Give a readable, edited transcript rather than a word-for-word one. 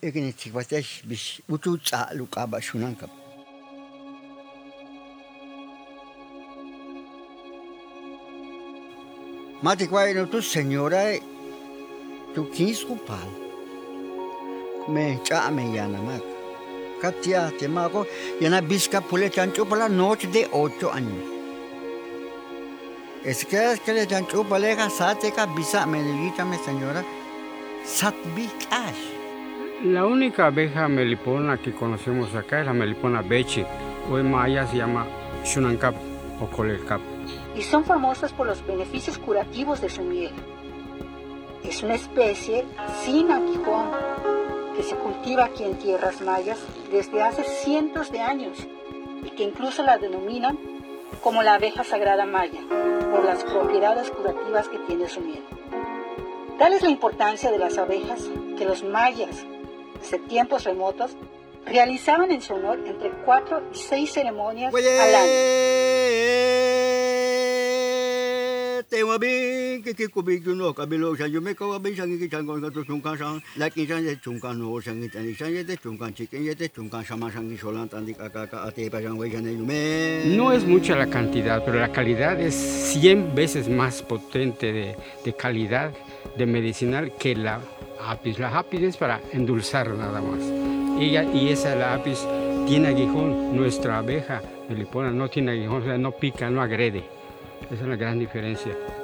Ignitzikwatesh bish ututza lukaba shunankap. Matikwai no tu señora tu kinskupal. Me chame yanamak. Katia temago yana bisca pule chancho por la noche de 8 años. Es que le chancho palega sateca bisa menelita me señora satbi cash. La única abeja melipona que conocemos acá es la melipona bechi, o en maya se llama shunankap o colelcap. Y son famosas por los beneficios curativos de su miel. Es una especie sin aguijón que se cultiva aquí en tierras mayas desde hace cientos de años y que incluso la denominan como la abeja sagrada maya por las propiedades curativas que tiene su miel. Tal es la importancia de las abejas que los mayas, desde tiempos remotos, realizaban en su honor entre 4 y 6 ceremonias al año. No es mucha la cantidad, pero la calidad es 100 veces más potente de calidad de medicinal que la apis. La apis es para endulzar nada más. Y esa la apis tiene aguijón. Nuestra abeja melipona no tiene aguijón, o sea, no pica, no agrede. Esa es la gran diferencia.